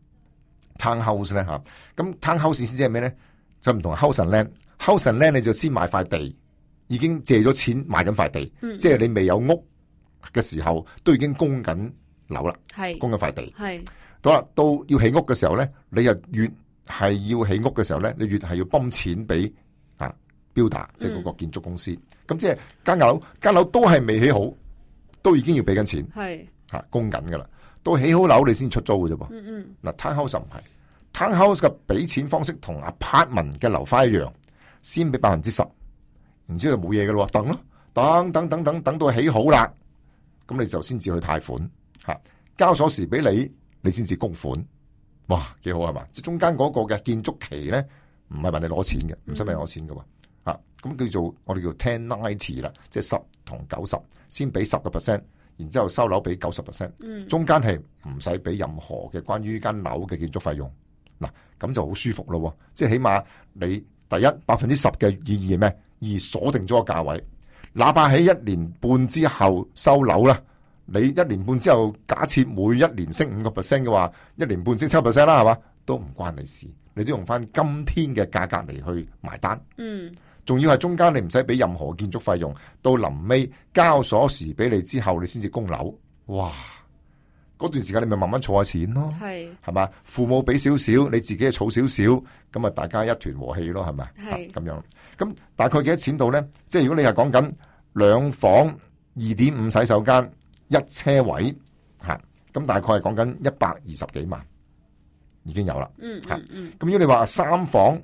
townhouse 咧咁 townhouse 先即係咩咧？就唔同 house and land。house and land 你就先買塊地，已經借咗錢買緊塊地，即係你未有屋嘅時候都已經供緊樓啦，供緊塊地。好啦，到要起屋嘅時候咧，你又越係要起屋嘅時候咧，你越係要泵錢俾builder，即係嗰個建築公司。咁即係間樓都係未起好，都已經要俾緊錢，供緊噶啦。到起好樓你先出租嘅啫噃。嗱，townhouse 唔係，townhouse 嘅俾錢方式同 apartment 嘅樓花一樣，先俾10%，然之後就冇嘢嘅咯，等咯，等到起好啦。咁你就先至去貸款，交鎖匙俾你先至供款，哇，幾好係嘛？即係中間嗰個嘅建築期咧，唔係問你攞錢嘅，唔使問你攞錢嘅喎，咁叫做我哋叫 10-90 啦，即係10同90，先俾10%，然之後收樓俾90%，中間係唔使俾任何嘅關於間樓嘅建築費用，嗱，咁就好舒服咯，即係起碼你第一10%嘅意義係咩？而鎖定咗個價位。哪怕喺1年半之後收樓啦，你1年半之後假設每1年升5% 嘅話，1年半升7%啦，係嘛？都唔關你事，你都用翻今天嘅價格嚟去埋單。仲要係中間你唔使俾任何建築費用，到臨尾交鎖匙俾你之後，你先至供樓。哇！嗰段時間你咪慢慢儲下錢咯，係嘛？父母俾少少，你自己儲少少，咁啊大家一團和氣咯，係咪？咁樣。咁大概幾多錢度咧？即係如果你係講緊2房2.5洗手間1車位咁大概係講緊120幾萬已經有啦。咁如果你話3房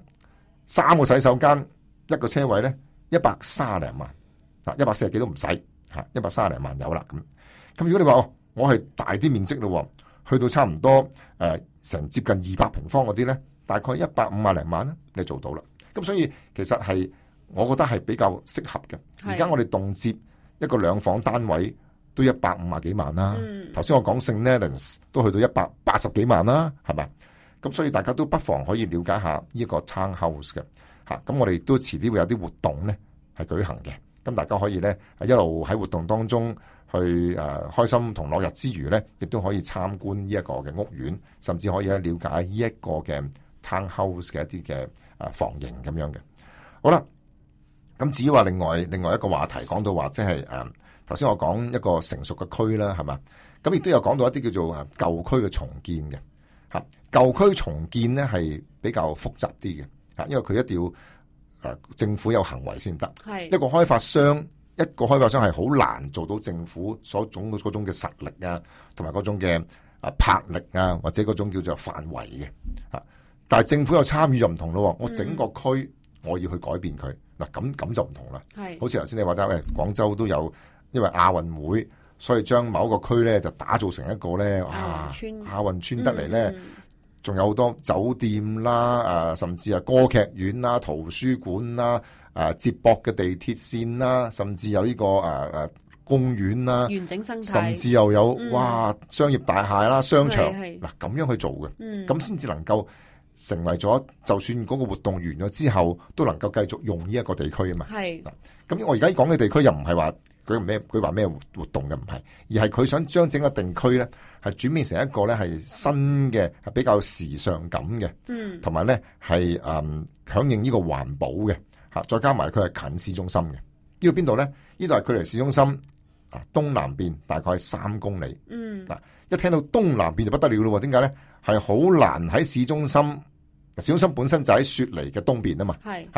3個洗手間1個車位咧，130零萬，140幾都唔使130零萬有啦。咁如果你話我係大啲面積咯，去到差唔多成接近200平方嗰啲咧，大概150零萬啦，你做到啦。咁所以其實係我覺得係比較適合嘅。而家我哋動輒一個2房單位都150幾萬啦。頭先我講St Leonards都去到180幾萬啦，係咪？咁所以大家都不妨可以了解下呢一個 townhouse 嘅。咁我哋都遲啲會有啲活動咧係舉行嘅。咁大家可以咧一路喺活動當中去開心同樂日之餘咧，亦都可以參觀呢一個嘅屋苑，甚至可以咧了解呢一個嘅 townhouse 嘅一啲嘅房型咁樣嘅。好啦，咁至於話另外一個話題講到話，即係頭先我講一個成熟嘅區啦，係嘛？咁亦都有講到一啲叫做舊區嘅重建嘅。舊區重建咧係比較複雜啲嘅。因為佢一定要政府有行為先得，一個開發商係好難做到政府所種嗰種嘅實力啊，同埋嗰種嘅魄力啊，或者嗰種叫做範圍嘅。但係政府有參與就唔同咯，我整個區我要去改變佢，嗱咁就唔同啦。好似頭先你話齋，廣州都有因為亞運會，所以將某一個區咧就打造成一個咧亞運村得嚟咧。仲有好多酒店啦，甚至係歌劇院啦、圖書館啦、接駁嘅地鐵線啦，甚至有呢個公園啦， 完整生態， 甚至又有哇商業大廈啦、商場嗱咁樣去做嘅，咁先至能夠成為咗，就算嗰個活動完咗之後，都能夠繼續用呢一個地區啊嘛。係嗱，咁我而家講嘅地區又唔係話佢話咩活動嘅，唔係，而係佢想將整個地區咧係轉變成一個咧係新嘅，係比較時尚感嘅，同埋咧係響應呢個環保嘅嚇，再加埋佢係近市中心嘅。呢度邊度咧？呢度係距離市中心東南邊大概3公里。嗱，一聽到東南邊就不得了咯，點解咧？係好難喺市中心，市中心本身就喺雪梨嘅東邊啊嘛。係嚇，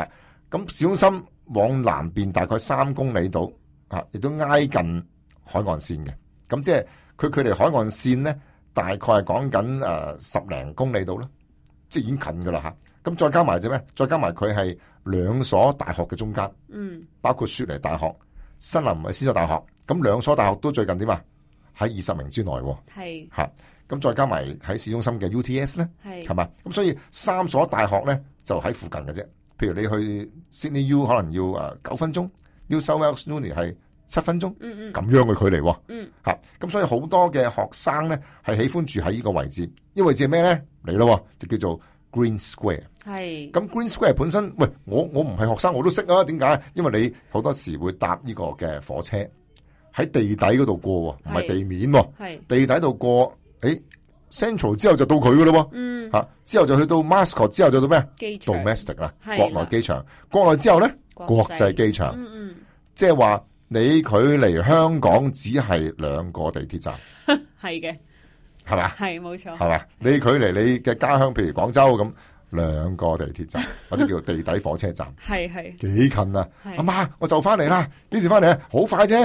咁市中心往南邊大概3公里度啊，亦都挨近海岸線嘅。咁即係佢距離海岸線咧，大概係講緊10零公里度啦，即係已經近噶啦吓。咁再加埋啫咩？再加埋佢係2所大學嘅中間，包括雪梨大學、新南威爾士大學。咁2所大學都最近點啊？喺20名之內，係吓。咁再加埋喺市中心嘅 UTS 咧，係嘛？咁所以3所大學咧就喺附近嘅啫。譬如你去 Sydney U 可能要9分鐘，New South Wales Uni 係7分鐘，咁樣嘅距離，吓。咁所以好多嘅學生咧係喜歡住喺呢個位置，呢個位置係咩咧？嚟咯，就叫做 Green Square。係。咁 Green Square 本身，喂，我唔係學生我都識啊。點解？因為你好多時會搭呢個嘅火車喺地底嗰度過，唔係地面，係地底度過。Central 之後就到佢噶咯，之後就去到 Mascot， 之後就到咩？Domestic 啦，國內機場。國內之後咧，國際機場。即係話你距離香港只係2個地鐵站， 係嘅， 係嘛？ 係冇錯， 係嘛？你距離你嘅家鄉，譬如廣州咁，2個地鐵站或者叫地底火車站，係幾近啊？阿媽，我就翻嚟啦，幾時翻嚟啊？好快啫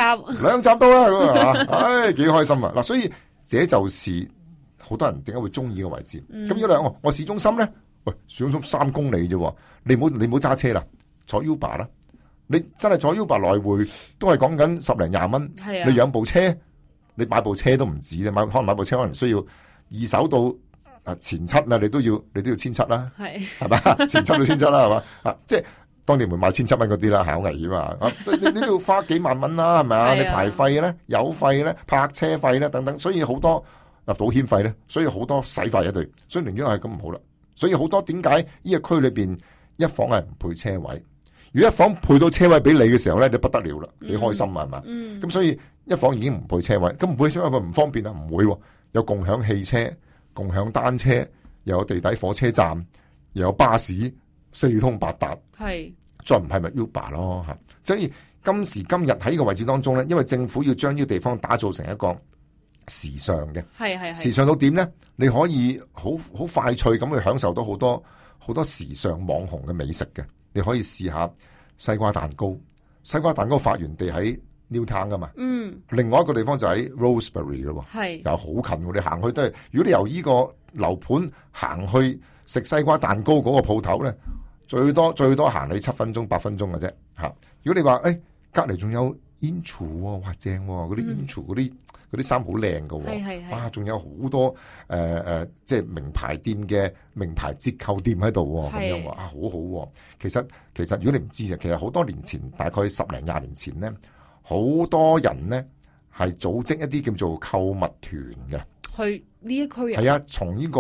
，2站到啦，唉，幾開心啊！嗱，所以。這就是好多人點解會中意嘅位置。咁如果我市中心咧，喂，市中心3公里啫，你唔好揸車啦，坐 Uber 啦。你真係坐 Uber 來回都係講緊10零20蚊。你養部車，你買部車都唔止，可能買部車可能需要2手到前7啦，你都要1,700啦，係嘛？前7到1,700啦，係嘛？即係當年唔會買1,700蚊嗰啲啦，係好危險啊！你都要花幾萬蚊啦，係咪啊？你牌費咧、油費咧、泊車費咧等等，所以好多保險費咧，所以好多使費一對，所以寧願係咁唔好啦。所以好多點解呢個區裏邊一房係唔配車位？如果一房配到車位俾你嘅時候咧，你不得了啦，幾開心啊，係嘛？咁所以一房已經唔配車位，咁唔配車位咪唔方便啊？唔會，有共享汽車、共享單車，又有地底火車站，又有巴士。4通8達，係再唔係咪 Uber 咯吓？所以今時今日喺呢個位置當中咧，因為政府要將呢個地方打造成一個時尚嘅，係時尚到點咧？你可以好快脆咁去享受到好多時尚網紅嘅美食嘅。你可以試下西瓜蛋糕，西瓜蛋糕發源地喺 Newtown 噶嘛，另外一個地方就喺 Rosebery 咯，係又好近喎。你行去都係，如果你由呢個樓盤行去食西瓜蛋糕嗰個鋪頭咧。最多行你7分鐘8分鐘嘅啫吓。如果你話隔籬仲有 Inchu 哇正嗰啲 Inchu 嗰啲衫好靚㗎，哇仲有好多即係名牌店嘅名牌折扣店喺度咁樣好好。其實如果你唔知其實好多年前，大概10零20年前咧，好多人咧係組織一啲叫做購物團嘅。去呢一區係啊，從呢個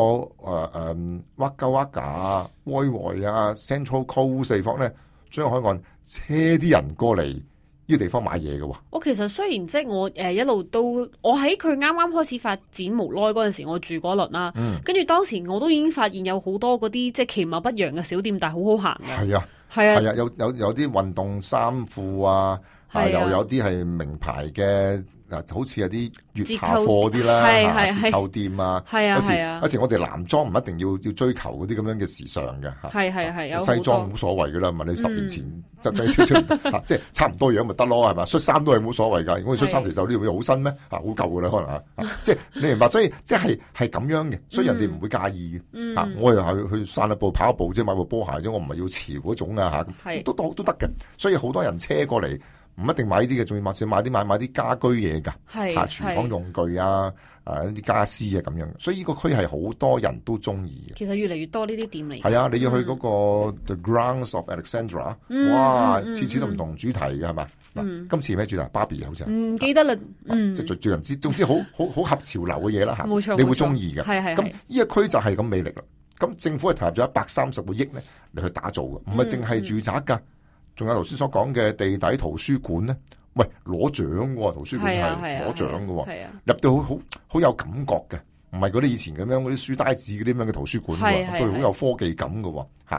Wagga Wagga 啊、威維啊、Central Coast 地方咧，將海岸車啲人過嚟呢個地方買嘢嘅。我其實雖然即係我一路都，我喺佢啱啱開始發展無耐嗰陣時，我住嗰輪啦，跟住當時我都已經發現有好多嗰啲即係其貌不揚嘅小店，但係好好行嘅。係啊，係啊，有啲運動衫褲啊，又有啲係名牌嘅。好似有啲月下貨啲啦，折扣店啊，有時我哋男裝唔一定要追求嗰啲咁樣嘅時尚嘅嚇，係西裝冇所謂噶啦，問你10年前就少少，即係差唔多樣咪得咯，係嘛？恤衫都係冇所謂㗎，如果恤衫其實呢樣好新咩？好舊噶啦，可能即係你明白，所以即係咁樣嘅，所以人哋唔會介意嘅。我又係去散下步、跑下步啫，買部波鞋啫，我唔係要潮嗰種啊嚇，都得嘅。所以好多人車過嚟。唔一定買呢啲嘅，仲要買啲家居嘢㗎，廚房用具啊，啲家私啊咁樣，所以呢個區係好多人都中意嘅。其實越嚟越多呢啲店嚟。係啊，你要去嗰個 The Grounds of Alexandra，哇，次次都唔同主題嘅係嘛？嗱，今次咩主題？芭比好似唔記得啦，即係最人知，總之好合潮流嘅嘢啦嚇，冇錯，你會中意嘅。咁呢個區就係咁魅力啦。咁政府係投入咗130個億咧嚟去打造嘅，唔係淨係住宅㗎。仲有頭先所講嘅地底圖書館咧，喂，攞獎喎！圖書館係攞獎嘅，入到好有感覺嘅，唔係嗰啲以前咁樣嗰啲書呆子嗰啲咁樣嘅圖書館喎，都好有科技感嘅喎，嚇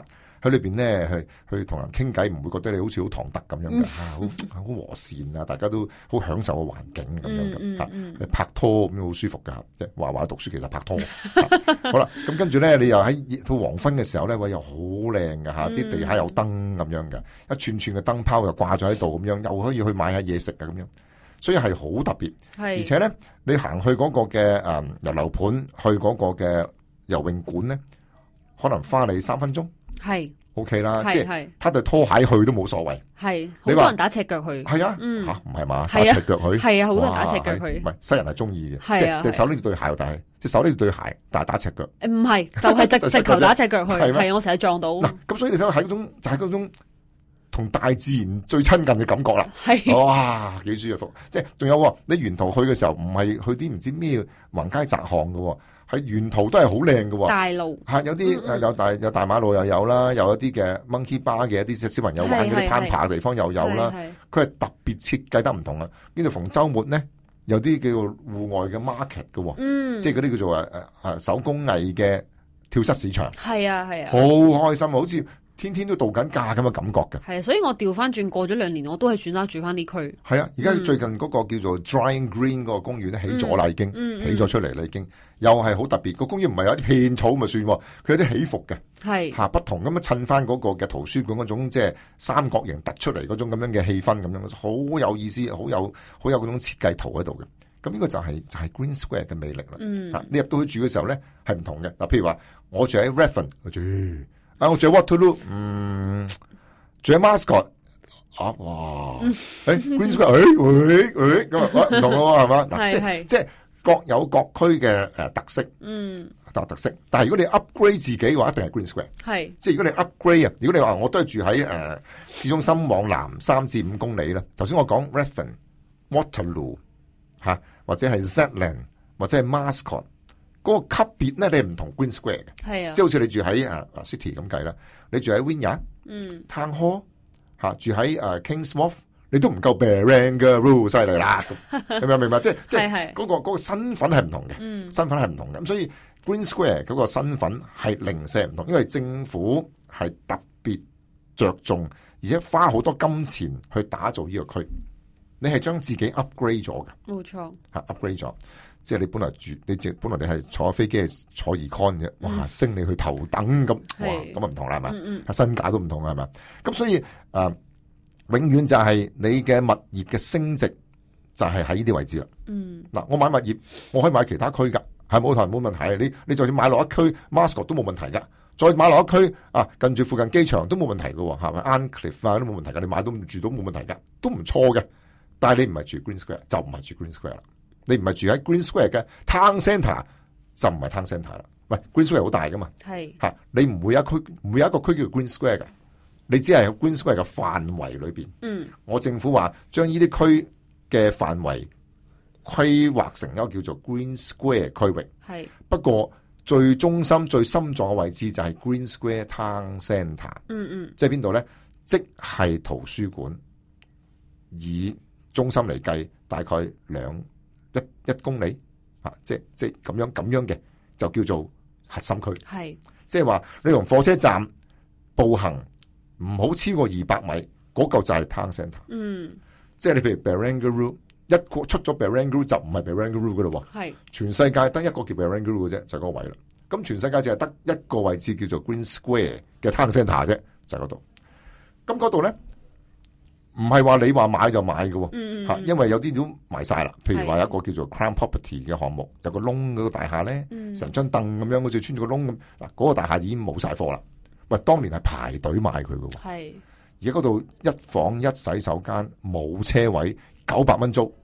喺裏邊咧去同人傾偈，唔會覺得你好似好唐突咁樣嘅，好和善啊，大家都好享受個環境咁樣嘅嚇，拍拖咁樣好舒服噶，即係話讀書其實拍拖。好啦，咁跟住咧，你又喺到黃昏嘅時候咧，又好靚嘅嚇，啲地下有燈咁樣嘅，一串串嘅燈泡又掛咗喺度咁樣，又可以去買下嘢食啊咁樣，所以係好特別。而且咧，你行去嗰個嘅遊樓盤，去嗰個嘅游泳館咧，可能花你3分鐘。係 OK 啦，即係他對拖鞋去都冇所謂。係，好多人打赤腳去。係啊，吓唔係嘛？打赤腳去。係啊，好多人打赤腳去。唔係西人係中意嘅，即係隻手拎住對鞋，但係隻手拎住對鞋，但係打赤腳。唔係，就係直頭打赤腳去。係我成日撞到。嗱，咁所以你睇到係嗰種，就係嗰種同大自然最親近嘅感覺啦。係，哇，幾舒服！即係仲有你沿途去嘅時候，唔係去啲唔知咩橫街窄巷嘅。喺沿途都係好靚嘅，大路吓有啲有大馬路又有啦，有一啲嘅 monkey bar 嘅一啲小朋友玩嗰啲攀爬嘅地方又有啦。佢係特別設計得唔同啊！跟住逢周末咧，有啲叫做戶外嘅 market 嘅，即係嗰啲叫做手工藝嘅跳蚤市場。係啊，好開心啊！好似天天都度緊假咁嘅感覺嘅。係啊，所以我調翻轉過咗2年，我都係選擇住翻啲區。係啊，而家最近嗰個叫做 Drying Green 嗰個公園咧起咗啦，已經起咗出嚟啦，已經又係好特別。個公園唔係有啲片草咪算，佢有啲起伏嘅，係吓不同咁樣襯翻嗰個嘅圖書館嗰種即係三角形突出嚟嗰種咁樣嘅氣氛咁樣，好有意思，好有嗰種設計圖喺度嘅。咁呢個就係 Green Square 嘅魅力啦。你入到去住嘅時候咧係唔同嘅。嗱，譬如話我住喺 Redfern，我住喺 Waterloo， 住喺 Mascot， 哇，Green Square， 咁唔同咯，係嘛？嗱，即係各有各區嘅特色，特色。但係如果你 upgrade 自己嘅話，一定係 Green Square。係，即係如果你 upgrade 啊，如果你話我都係住喺市中心往南3至5公里啦。頭先我講 Redfern、Waterloo 吓，或者係 Zetland 或者係 Mascot。嗰個級別咧，你唔同 Green Square 嘅，係啊，即係好似你住喺City 咁計啦，你住喺 Wynyard、Town Hall 住喺Kings Wharf， 你都唔夠 Barangaroo 犀利啦，係咪明白？即係嗰個身份係唔同嘅，身份係唔同嘅，咁所以 Green Square 嗰個身份係零舍唔同，因為政府係特別着重，而且花好多金錢去打造呢個區，你係將自己 upgrade 咗嘅，冇錯，upgrade 咗。即係你本來你係坐飛機係坐 econ 嘅，哇，升你去頭等咁，哇，咁啊唔同啦，係嘛，身價都唔同啦，係嘛，咁所以永遠就係你嘅物業嘅升值就係喺呢啲位置啦。嗱，我買物業，我可以買其他區噶，係冇問題。你就算買落一區 Mascot 都冇問題噶，再買落一區近住附近機場都冇問題噶，係咪 Arncliffe 都冇問題噶，你買到住到冇問題噶，都唔錯嘅。但係你唔係住 Green Square 就唔係住 Green Square 啦。你唔係住喺 Green Square 嘅 Town Centre 就唔係 Town Centre 啦。喂 ，Green Square 好大噶嘛？係吓，你唔會有一個區叫 Green Square 嘅，你只係喺 Green Square 嘅範圍裏邊。我政府話將呢啲區嘅範圍規劃成一個叫做 Green Square 區域。係，不過最中心、最心臟嘅位置就係 Green Square Town Centre。即係邊度咧？即係圖書館，以中心嚟計，大概一公里即係咁樣嘅，就叫做核心區。係，即係話你從火車站步行唔好超過200米，嗰嚿就係 Town Centre。即係你譬如 Barangaroo 一個出咗 Barangaroo 就唔係 Barangaroo 噶咯。係，全世界得一個叫 Barangaroo 嘅啫，就係嗰個位啦。咁全世界就係得一個位置叫做 Green Square 嘅 Town Centre 啫，就係嗰度。咁嗰度咧，唔係話你話買就買嘅，吓，因為有啲都賣晒啦。譬如話有一個叫做 Crown Property 嘅項目，有個窿嗰個大廈咧，成張凳咁樣，好似穿住個窿咁。嗱，嗰個大廈已經冇晒貨啦。喂，當年係排隊買佢嘅，係。而家嗰度一房一洗手間冇車位，900蚊租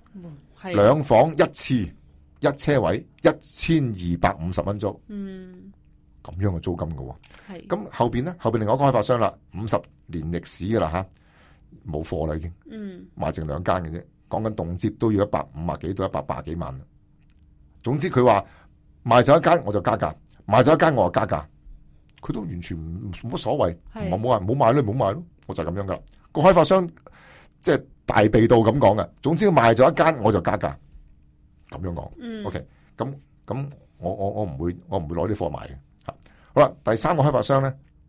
，2房一廁一車位1250蚊租，咁樣嘅租金嘅。係。咁後邊咧，後邊另外一個開發商啦，50年歷史噶啦吓。冇貨啦已經，賣剩2間嘅啫，講緊動輒都要150幾到180幾萬。總之佢話賣咗一間我就加價，賣咗一間我就加價，佢都完全冇乜所謂，冇話唔好買咯，唔好買咯，我就係咁樣噶啦。個開發商即係大鼻到咁講嘅，總之賣咗一間我就加價，咁樣講。OK， 咁我唔會攞啲貨賣嘅。好啦，第3個開發商咧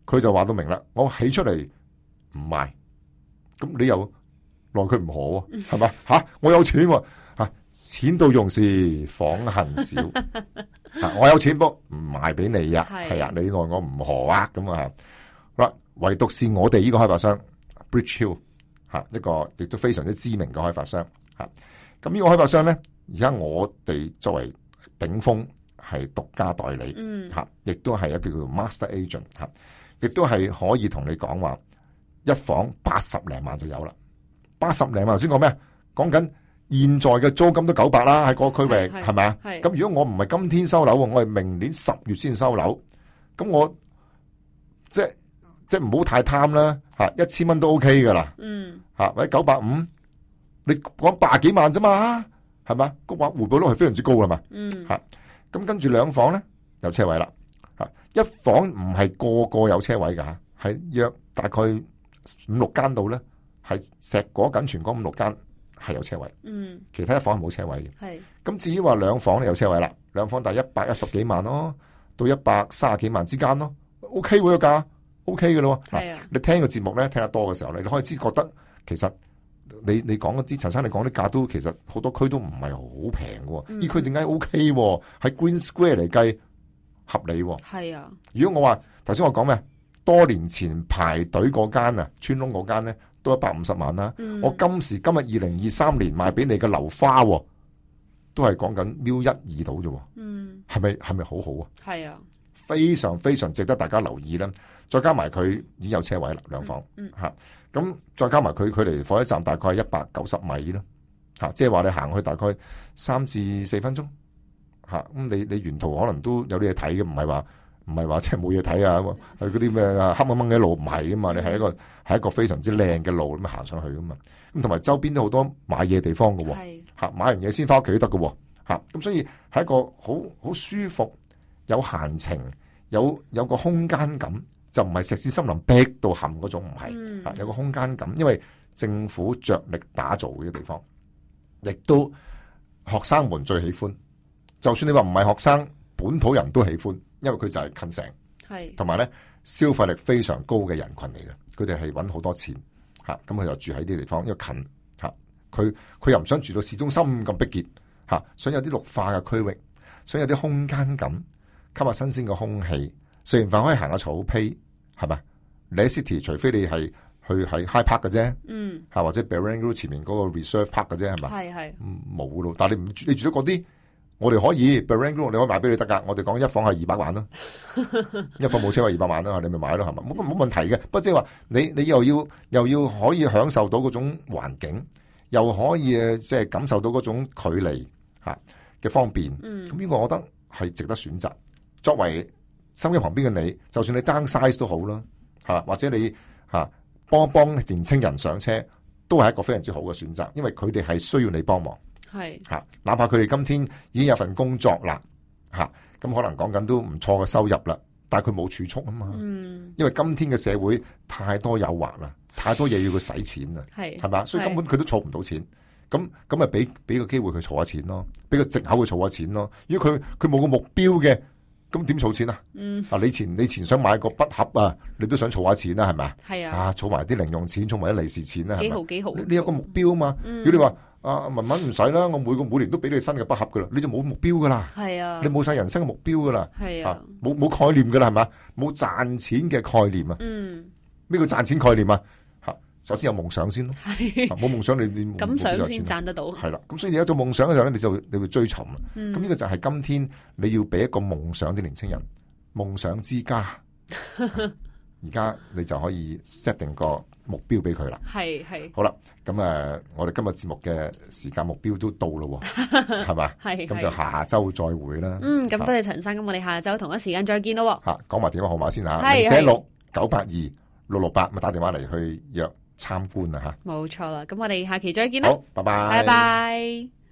佢就話到明啦，我起出嚟唔賣，咁你又奈佢唔何喎，係嘛？吓，我有錢喎，吓，錢到用時方恨少，我有錢不唔賣俾你呀，係啊，你奈我唔何啊，咁啊，好啦，唯獨是我哋呢個開發商 Bridge Hill 吓，一個亦都非常之知名嘅開發商吓，咁呢個開發商咧，而家我哋作為頂峰係獨家代理吓，亦都係一個叫做 Master Agent 吓，亦都係可以同你講話，一房80零萬就有啦，80零萬頭先講咩？講緊現在嘅租金都900啦，喺嗰個區域係咪啊？咁如果我唔係今天收樓，我係明年10月先收樓，咁我即係唔好太貪啦吓，1000蚊都 OK 噶啦，吓或者950，你講80幾萬啫嘛，係嘛？個話回報率係非常之高噶嘛，吓咁跟住兩房咧有車位啦，吓一房唔係個個有車位噶，係約大概5、6間度咧，係石果緊全港5、6間係有車位，其他一房係冇車位嘅。係咁至於話兩房咧有車位啦，兩房大概110幾萬咯，到130幾萬之間咯 ，OK 喎個價 ，OK 嘅咯。係啊，你聽個節目咧聽得多嘅時候咧，你開始覺得其實你講嗰啲陳生你講啲價都其實好多區都唔係好平嘅，呢區點解 OK 喎？喺 Green Square 嚟計合理喎。係啊，如果我話頭先我講咩？多年前排隊嗰間啊，村窿嗰間咧都150萬啦。我今時今日2023年賣俾你嘅樓花，都係講緊1.2到啫。係咪好好啊？係啊，非常非常值得大家留意啦。再加埋佢已經有車位啦，兩房吓。咁再加埋佢距離火車站大概係190米啦，吓，即係話你行去大概3至4分鐘吓。咁你沿途可能都有啲嘢睇嘅，唔係話即係冇嘢睇啊！係嗰啲咩黑掹掹嘅路唔係噶嘛，你係一個非常之靚嘅路咁行上去噶嘛。咁同埋周邊都好多買嘢地方噶，吓，買完嘢先翻屋企都得噶，吓。咁所以係一個好舒服、有閒情、有個空間感，就唔係石屎森林逼到冚嗰種，唔係，有個空間感。因為政府着力打造嘅地方，亦都學生們最喜歡。就算你話唔係學生，本土人都喜歡。因為佢就係近城，係同埋咧消費力非常高嘅人群嚟嘅，佢哋係揾好多錢吓，咁佢就住喺呢啲地方，因為近吓，佢又唔想住到市中心咁逼傑吓，想有啲綠化嘅區域，想有啲空間感，吸下新鮮嘅空氣，食完飯可以行下草皮，係咪？你喺 City 除非你係去喺 High Park 嘅啫，吓或者 Barangaroo 前面嗰個 Reserve Park 嘅啫，係咪？係冇咯，但係你住咗嗰啲。我哋可以 Barangaroo 你可以買俾你得噶。我哋講一房係200萬啦，一房冇車位200萬啦，你咪買咯，係咪？冇問題嘅。不過即係話你又要可以享受到嗰種環境，又可以即係感受到嗰種距離吓嘅方便。咁呢個我覺得係值得選擇。作為收音機旁邊嘅你，就算你 downsize 都好啦，吓或者你吓幫年青人上車，都係一個非常之好嘅選擇，因為佢哋係需要你幫忙。係吓，哪怕佢哋今天已經有份工作啦，吓咁可能講緊都唔錯嘅收入啦，但係佢冇儲蓄啊嘛。因為今天嘅社會太多誘惑啦，太多嘢要佢使錢啦，係嘛，所以根本佢都儲唔到錢。咁咪俾個機會佢儲下錢咯，俾個藉口佢儲下錢咯。如果佢冇個目標嘅，咁點儲錢啊？你前想買個筆盒啊，你都想儲下錢啦，係咪？係啊，儲埋啲零用錢，儲埋啲利是錢啦，幾好。你有個目標啊嘛。如果你話文文唔使啦，我每年都俾你新嘅筆盒噶啦，你就冇目標噶啦。係啊，你冇晒人生嘅目標噶啦。係啊，冇概念噶啦，係嘛？冇賺錢嘅概念啊。咩叫賺錢概念啊？首先有夢想先咯。冇夢想你咁想先賺得到。係啦，咁所以你有咗夢想嘅時候咧，你會追尋啦。咁呢個就係今天你要俾一個夢想啲年青人，夢想之家。而家你就可以 set 定個目標俾佢啦。係好啦，咁我哋今日節目嘅時間目標都到咯，係嘛？係咁就下周再會啦。咁多謝陳生，咁我哋下周同一時間再見咯。吓，講埋電話號碼先吓，046-982-668，咁打電話嚟去約參觀啊吓。冇錯啦，咁我哋下期再見啦。好，拜拜。拜拜。